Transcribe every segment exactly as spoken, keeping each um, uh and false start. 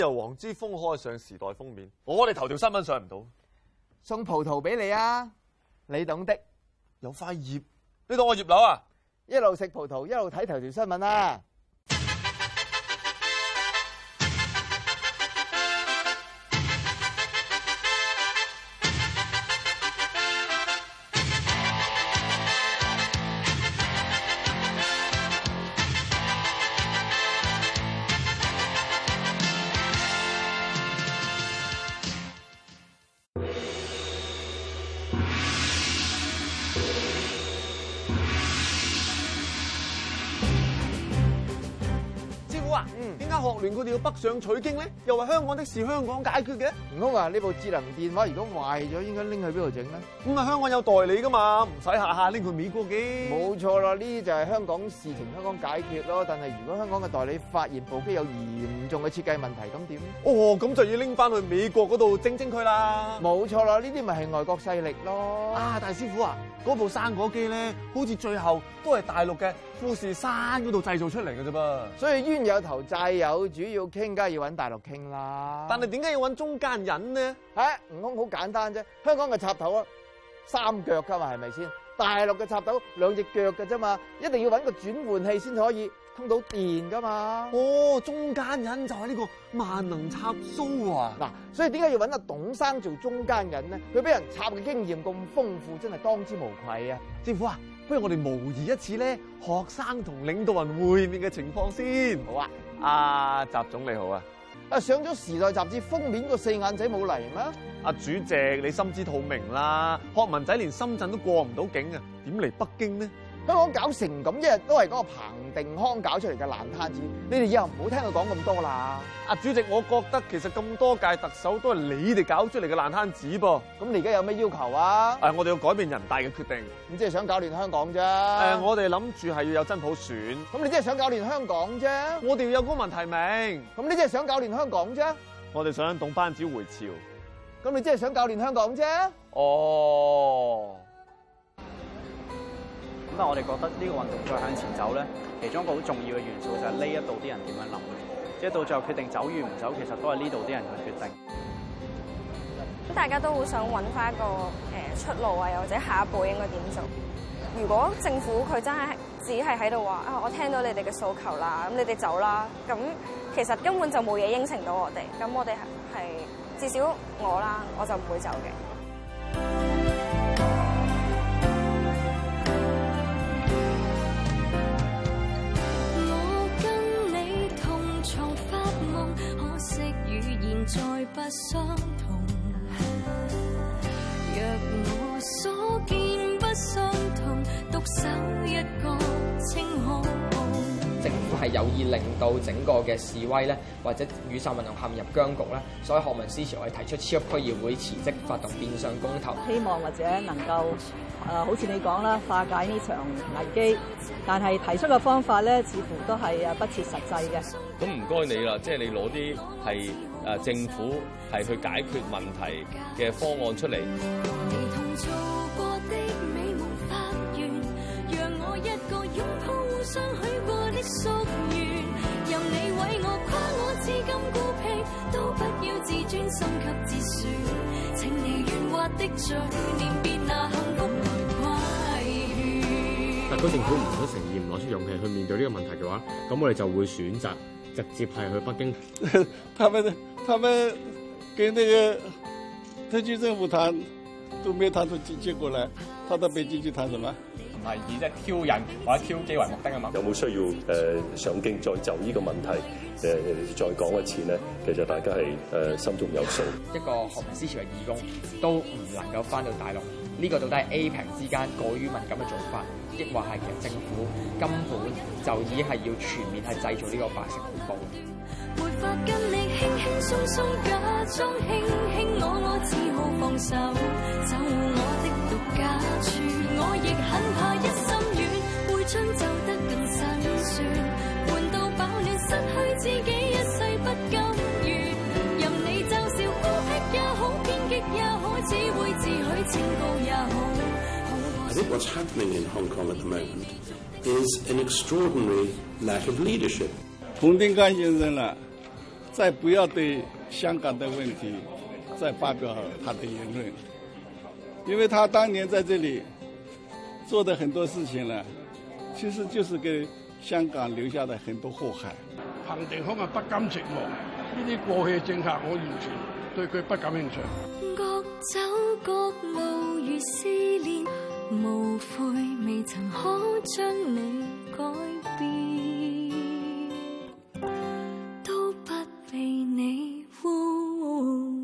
由黃之鋒開上時代封面，我哋頭條新聞上唔到。 送葡萄俾你啊，你懂的。 有塊葉，你當我葉劉啊？ 一路食葡萄，一路睇頭條新聞啊！ 嗯，點解學聯佢哋要北上取經咧？又話香港的事香港解決嘅？ 唔通啊？呢部智能電話如果壞咗，應該拎去邊度整咧？ 咁啊，香港有代理噶嘛，唔使下下拎去美國嘅。 冇錯啦，呢啲就係香港事情香港解決咯。但係如果香港嘅代理發現部機有嚴重嘅設計問題，咁點？ 哦，咁就要拎翻去美國嗰度整整佢啦。 冇錯啦，呢啲咪係外國勢力咯。 啊，大師傅啊，嗰部生果機咧，好似最後都係大陸嘅富士山嗰度製造出嚟嘅啫噃。所以冤有頭債有主，要傾梗係要揾大陸傾啦。 但係點解要揾中間人呢？ 唉，悟空好簡單啫，香港嘅插頭啊，三腳噶嘛，係咪先？大陸嘅插頭兩隻腳嘅啫嘛，一定要揾個轉換器先可以通到電噶嘛。 哦，中間人就係呢個萬能插蘇啊！嗱， 所以點解要揾阿董生做中間人呢？佢俾人插嘅經驗咁豐富，真係當之無愧啊！ 師傅啊，不如我哋模擬一次咧，學生同領導人會面嘅情況先。 好啊， 阿習總你好啊！ 啊，上咗《時代》雜誌封面個四眼仔冇嚟咩？ 阿主席，你心知肚明啦，學文仔連深圳都過唔到境啊，點嚟北京呢？ 香港搞成咁，一日都係嗰個彭定康搞出嚟嘅爛攤子。你哋以後唔好聽佢講咁多啦。 阿主席，我覺得其實咁多屆特首都係你哋搞出嚟嘅爛攤子噃。 咁你而家有咩要求啊？ 誒，我哋要改變人大嘅決定。 咁即係想搞亂香港啫。 誒，我哋諗住係要有真普選。 咁你即係想搞亂香港啫。 我哋要有公民提名。 咁你即係想搞亂香港啫。 我哋想董班子回朝。 咁你即係想搞亂香港啫。 哦。 咁但係我哋覺得呢個運動再向前走咧，其中一個好重要嘅元素就係呢一度啲人點樣諗，即係到最後決定走與唔走，其實都係呢度啲人去決定。 咁大家都好想揾翻一個誒出路啊，又或者下一步應該點做？如果政府佢真係只係喺度話啊，我聽到你哋嘅訴求啦，咁你哋走啦，咁其實根本就冇嘢應承到我哋。咁我哋係至少我啦，我就唔會走嘅。 再不相同，若我所見不相同，獨守一個清空。 政府係有意令到整個嘅示威咧，或者雨傘運動陷入僵局咧，所以學民思潮係提出超級區議會辭職，發動變相公投， 希望或者能夠誒、呃，好似你講啦，化解呢場危機。但係提出嘅方法咧，似乎都係誒不切實際嘅。 咁唔該你啦，即係你攞啲係誒政府係去解決問題嘅方案出嚟。 特區政府唔想承認，唔攞出勇氣去面對呢個問題嘅話，咁我哋就會選擇直接係去北京。 他們他們跟那個特區政府談，都沒談出結果來，他到北京去談什麼？ 唔係以即係挑釁或者挑機為目的啊嘛。 有冇需要誒、呃、上京再就呢個問題誒、呃、再講一次呢？其實大家係誒、呃、心中有數。 一個學民思潮嘅義工都唔能夠翻到大陸，呢、這個到底係 A 平之間過於敏感嘅做法，抑或係其實政府根本就已經係要全面係製造呢個白色恐怖。沒法跟你輕輕鬆鬆假裝輕輕我我只好放手走我的獨家處，我亦很怕一心軟會將走得更辛酸，悶到飽暖失去自己一世不甘願，任你嘲笑孤僻也好偏激也好，只會自許清高也好。 I think what's happening in Hong Kong at the moment is an extraordinary lack of leadership. 彭定康先生啦， 再不要對香港的問題再發表他的言論，因為他當年在這裡做的很多事情呢，其實就是給香港留下了很多禍害。 彭定康係不甘寂寞，呢啲過去嘅政客我完全對佢不感興趣。 各走各路如思念，無悔未曾可將你改變，都不被你污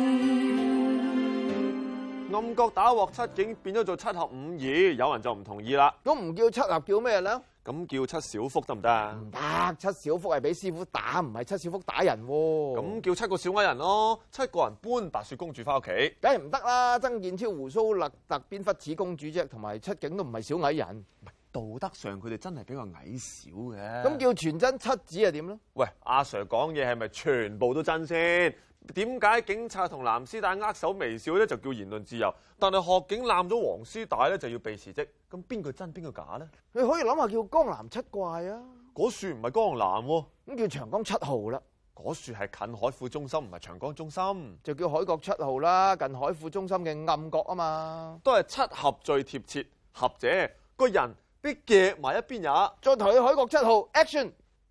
染。 暗角打鑊七警變咗做七合五二，有人就唔同意啦。 咁唔叫七合叫咩咧？ 咁叫七小福得唔得啊？ 唔得，七小福係俾師傅打，唔係七小福打人喎。 咁叫七個小矮人咯，七個人搬白雪公主翻屋企， 梗係唔得啦！曾健超胡鬚勒特邊忽似公主啫，同埋七警都唔係小矮人。 道德上佢哋真係比較矮小嘅。 咁叫全真七子係點咧？ 喂，阿 Sir 講嘢係咪全部都真先？點解警察同藍絲帶握手微笑咧就叫言論自由，但係學警攬咗黃絲帶咧就要被辭職？咁邊個真邊個假咧？ 你可以諗下叫江南七怪啊！ 嗰樹唔係江南喎， 咁叫長江七號啦。 嗰樹係近海富中心，唔係長江中心， 就叫海角七號啦，近海富中心嘅暗角啊嘛。 都係七合最貼切，合者個人俾夾埋一邊也。 再提起海角七號 ，action！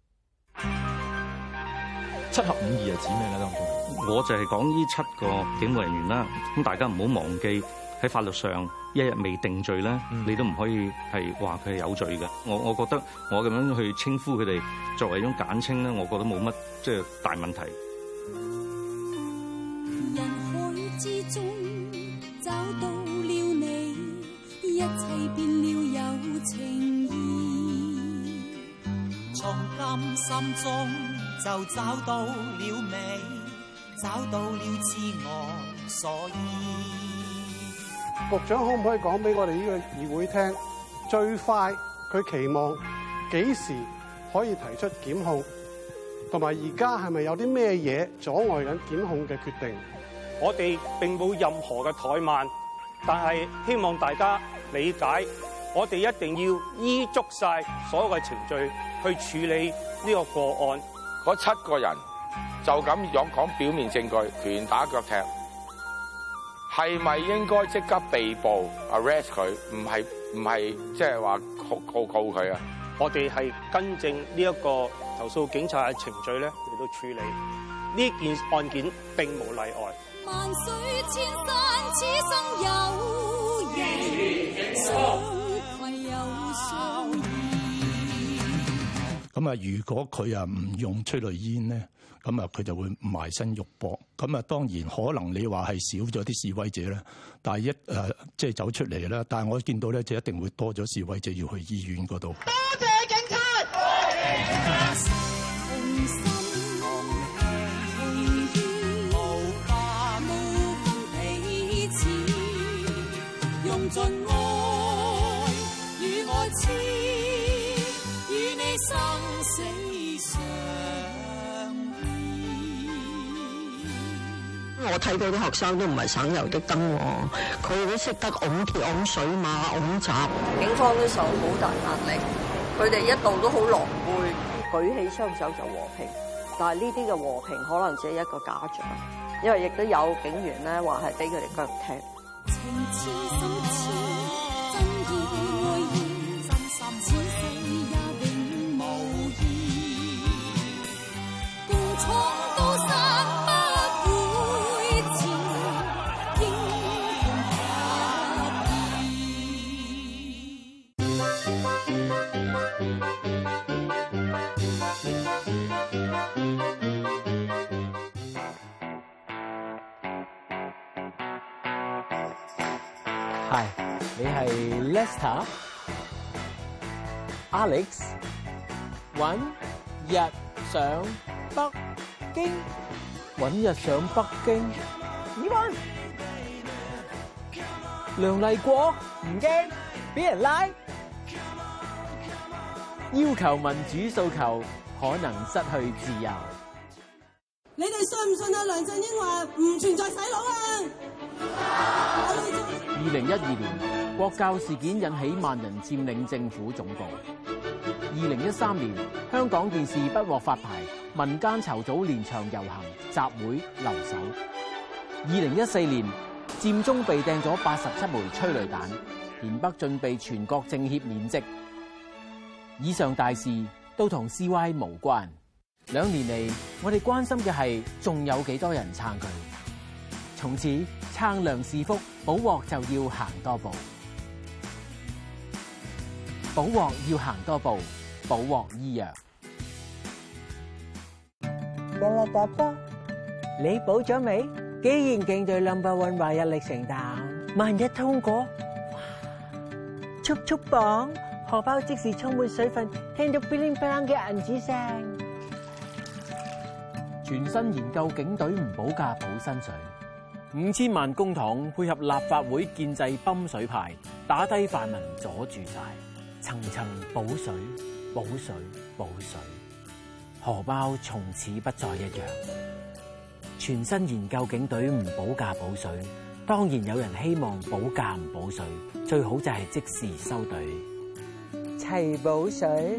七合五二係指咩咧？當中我就係講呢七個警務人員啦。咁大家唔好忘記喺法律上一日未定罪咧，嗯、你都唔可以係話佢係有罪嘅。我我覺得我咁樣去稱呼佢哋作為一種簡稱咧，我覺得冇乜即係大問題。 人海之中找到了你，一切變了有情義， 從甘心中就找到了美，找到了自我所依。 局長可唔可以講俾我哋呢個議會聽，最快佢期望幾時可以提出檢控，同埋而家係咪有啲咩嘢阻礙緊檢控嘅決定？ 我哋並冇任何嘅怠慢，但係希望大家理解，我哋一定要依足晒所有嘅程序去處理呢個個案。 嗰七個人就咁樣講表面證據，拳打腳踢，係咪應該即刻被捕 arrest 佢？唔係唔係即係話告告告佢啊？ 我哋係跟正呢一個投訴警察嘅程序咧嚟到處理呢件案件，並無例外。 萬水千山，此生有緣，相攜又相依。 咁啊，如果佢啊唔用催淚煙咧，咁啊佢就會埋身肉搏。咁啊，當然可能你話係少咗啲示威者咧，但係一誒即係走出嚟啦。但係我見到咧，就一定會多咗示威者要去醫院嗰度。 多謝警察。用盡愛與愛痴，與你生死相依。 我睇到啲學生都唔係省油的燈喎，佢都識得拱鐵、拱水馬、拱閘。 警方都受好大壓力，佢哋一度都好狼狽，舉起雙手就和平。但係呢啲嘅和平可能只係一個假象，因為亦都有警員咧話係俾佢哋腳踢。 情痴心痴，真意愛意，真心此世也永無意。共闖高山不會遲，英係，你係 Lester、Alex， 揾日上北京，揾日上北京，點揾？梁麗國唔驚，俾人拉，要求民主訴求，可能失去自由。 你哋信唔信啊？梁振英話唔存在洗腦啊！ 二零一二年，國教事件引起萬人佔領政府總部。二零一三年，香港電視不獲發牌， 民間籌組連場遊行、集會、留守。二零一四年，佔中被掟咗八十七枚催淚彈，田北俊被全國政協免職。以上大事都同 C Y 無關。兩年嚟，我哋關心嘅係仲有幾多人撐佢。從此撐梁是福，補鑊就要行多步。補鑊要行多步，補鑊醫藥。 得啦，大伯，你補咗未？既然競對 number one 話一力承擔，萬一通過，速速磅，荷包即時充滿水分，聽到 bling bling 嘅銀紙聲。 全新研究警隊唔補價補薪水，五千萬公帑配合立法會建制泵水派，打低泛民阻住晒，層層補水、補水、補水，荷包從此不再一樣。全新研究警隊唔補價補水，當然有人希望補價唔補水，最好就係即時收隊， 齊補水。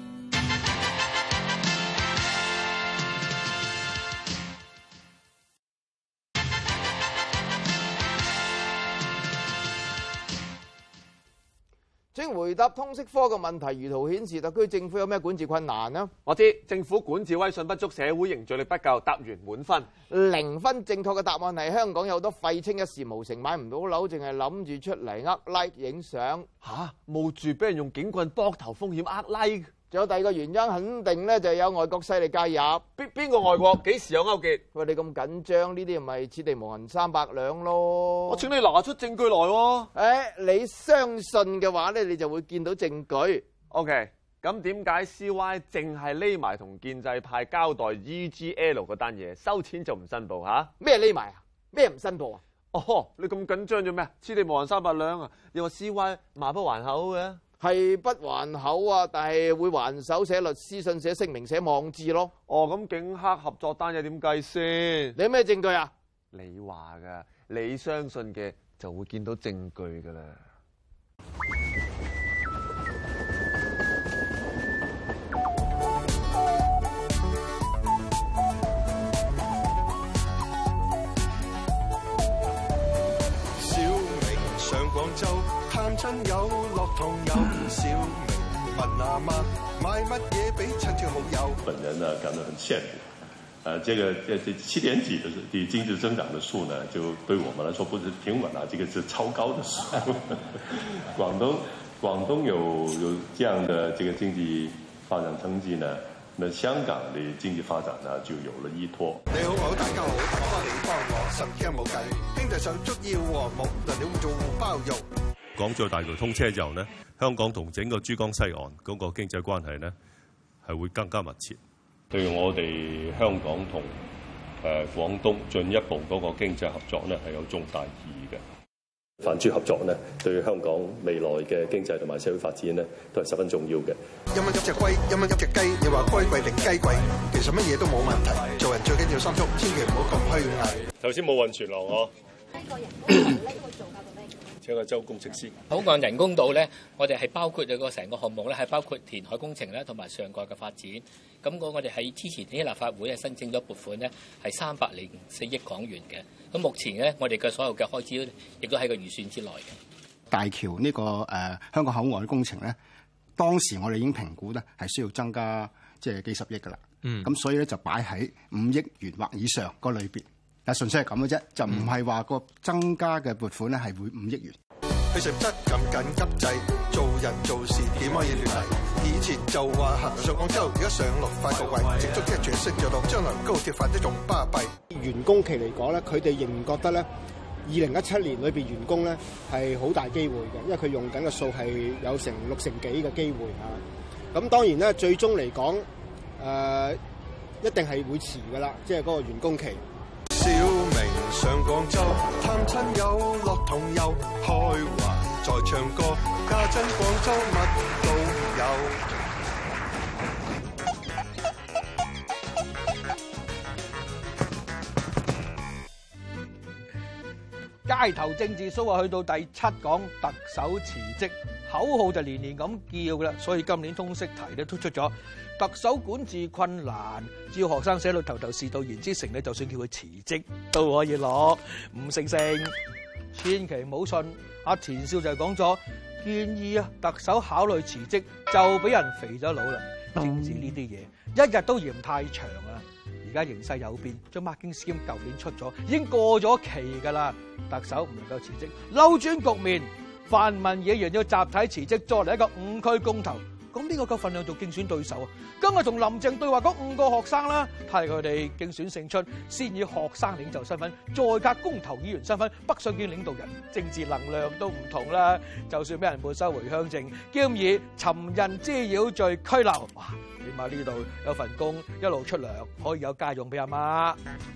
請回答通識科嘅問題，如圖顯示，特區政府有咩管治困難呢？ 我知政府管治威信不足，社會凝聚力不夠，答完滿分。 零分正確嘅答案係香港有好多廢青一事無成，買唔到樓，淨係諗住出嚟呃 like 影相。 吓，冒住俾人用警棍膊頭風險呃 like。 仲有第二個原因，肯定咧就係有外國勢力介入。 邊邊個外國？幾時有勾結？ 喂，你咁緊張，呢啲咪此地無銀三百兩咯？ 我請你拿出證據來喎。 誒，你相信嘅話咧，你就會見到證據。 OK，咁點解 C Y 淨係匿埋同建制派交代 E G L 嗰單嘢，收錢就唔申報嚇？ 咩匿埋啊？咩唔申報啊？ 哦，你咁緊張做咩？此地無銀三百兩啊！你話 C Y 馬不還口嘅？ 係不還口啊，但係會還手寫律師信、寫聲明、寫網誌咯。 哦，咁警黑合作單嘢點計先？ 你有咩證據啊？ 你話㗎，你相信嘅就會見到證據㗎啦。 小明上廣州探親友，落堂有小明問阿媽買乜嘢俾親戚好友。 本人呢感到很羨慕，呃，這個這這七點幾的的經濟增長的數呢，就對我們來說不是平穩啊，這個是超高的數。廣東廣東有有這樣的這個經濟發展成績呢，那香港的經濟發展呢就有了依託。 你好，好，大家好，我幫你幫我，神經冇計，經濟上足要和睦，能了做包肉。 港珠澳大橋通車之後呢，香港同整個珠江西岸嗰個經濟關係呢係會更加密切。對我哋香港同誒廣東進一步嗰個經濟合作呢係有重大意義嘅。泛珠合作呢，對香港未來嘅經濟同埋社會發展呢都係十分重要嘅。 一蚊一隻龜，一蚊一隻雞，你話龜貴定雞貴，其實乜嘢都冇問題。做人最緊要心足，千祈唔好咁虛偽。 頭先冇運存樓我。 呢個人工島呢個做法到咩？ 請個周工程師。 口岸人工島咧，我哋係包括咗個成個項目咧，係包括填海工程咧，同埋上蓋嘅發展。咁我我哋喺之前呢立法會係申請咗撥款咧，係三百零四億港元嘅。咁目前咧，我哋嘅所有嘅開支亦都喺個預算之內嘅。 大橋呢、這個誒、呃、香港口岸嘅工程咧，當時我哋已經評估咧係需要增加即係幾十億㗎啦。嗯。咁所以咧就擺喺五億元或以上個類別。啊，純粹係咁嘅啫，就唔係話個增加嘅撥款咧係會五億元。 佢實質咁緊急制，做人做事點可以亂嚟？以前就話行上廣州，而家上陸快到位，直足即係全息著陸，將來高鐵發得仲巴閉。 完工期嚟講咧，佢哋仍然覺得咧，二零一七年裏邊完工咧係好大機會嘅，因為佢用緊嘅數係有成六成幾嘅機會啊。咁當然咧，最終嚟講，誒、呃、一定係會遲㗎啦，即係嗰個完工期。 小明上廣州探親友，落同遊開懷再唱歌，家陣廣州乜都有。街頭政治 show 啊，去到第七講特首辭職， 口號就年年咁叫啦，所以今年通識題咧都出咗特首管治困難，只要學生寫到頭頭是道言之成咧，就算叫佢辭職都可以攞五星星。千祈唔好信阿田少就係講咗建議啊，特首考慮辭職就俾人肥咗腦啦。政治呢啲嘢一日都嫌太長啊！而家形勢有變，將 Marking Scheme 舊年出咗，已經過咗期㗎啦。特首唔能夠辭職，扭轉局面，泛民議員要集體辭職，再嚟一個五區公投。咁呢個夠份量做競選對手啊！今日同林鄭對話嗰五個學生啦，睇佢哋競選勝出，先以學生領袖身份，再加公投議員身份北上見領導人，政治能量都唔同啦。就算俾人沒收回鄉證，兼以尋釁滋擾罪拘留，哇！起碼呢度有份工，一路出糧，可以有家用俾阿媽。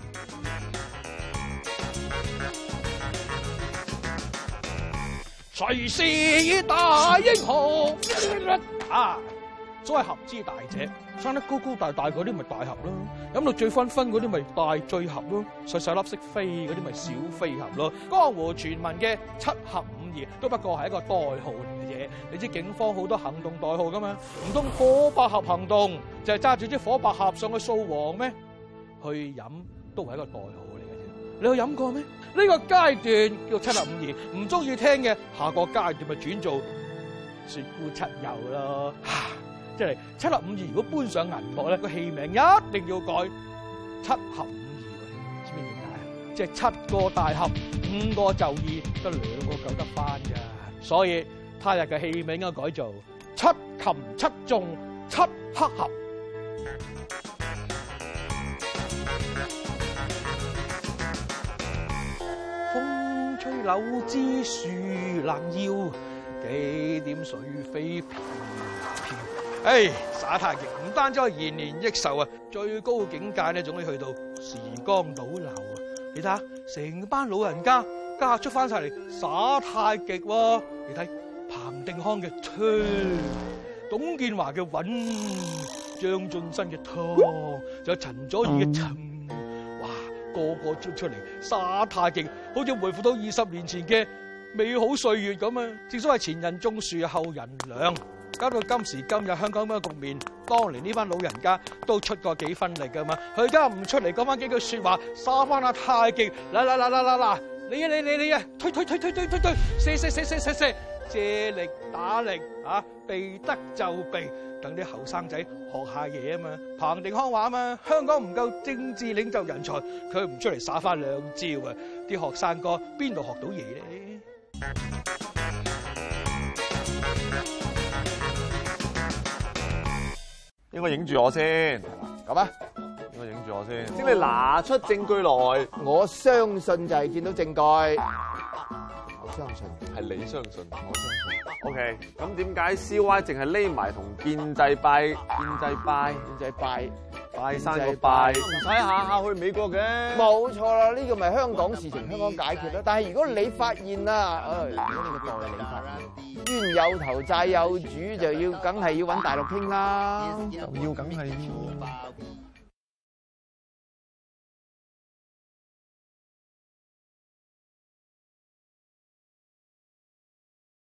誰是大英雄？啊！所謂合之大者，生得高高大大嗰啲咪大俠咯，飲到醉醺醺嗰啲咪大醉俠咯，細細粒識飛嗰啲咪小飛俠咯。江湖傳聞嘅七俠五義都不過係一個代號嚟嘅嘢。你知警方好多行動代號噶嘛？唔通火百合行動就係揸住支火百合上去掃黃咩？去飲都係一個代號嚟嘅啫。你有飲過咩？呢個階段叫七俠五義，唔中意聽嘅下個階段咪轉做雪姑七友咯。即係七俠五義，如果搬上銀幕咧，個戲名一定要改七俠五義。知唔知點解啊？即係七個大俠，五個就義，得兩個救得翻㗎。所以他日嘅戲名應該改做七擒七縱七黑俠。風吹柳枝樹冷腰，幾點水飛飄飄。唉，耍太極唔單止可以延年益壽啊，最高境界咧，仲可以去到時光倒流啊！你睇下，成班老人家家出翻晒嚟耍太極喎！你睇彭定康嘅推，董建華嘅穩，張進新嘅湯，仲有陳佐洱嘅沉，哇！個個出出嚟耍太極，好似回復到二十年前嘅美好歲月咁啊！正所謂前人種樹，後人糧。搞到今時今日香港咁嘅局面，當年呢班老人家都出過幾分力噶嘛，佢而家唔出嚟講翻幾句說話，耍翻下太極，嗱嗱嗱嗱嗱嗱，你啊你你你啊，推推推推推推推，射射射射射射，借力打力啊，避得就避，等啲後生仔學下嘢啊嘛。彭定康話啊嘛，香港唔夠政治領袖人才，佢唔出嚟耍翻兩招啊，啲學生哥邊度學到嘢咧？ 應該影住我先， 咁啊， 應該影住我先。先你拿出證據來， 我相信就係見到證據。我相信係你相信，我相信。O K， 咁點解 C Y 淨係匿埋同建制拜、建制拜、 建制拜、 拜山個拜，唔使下下去美國嘅？ 冇錯啦，呢個咪香港事情，香港解決啦。但係如果你發現啦，誒，如果你個代理發現冤有頭債有主，就要梗係要揾大陸傾啦， 就要梗係要。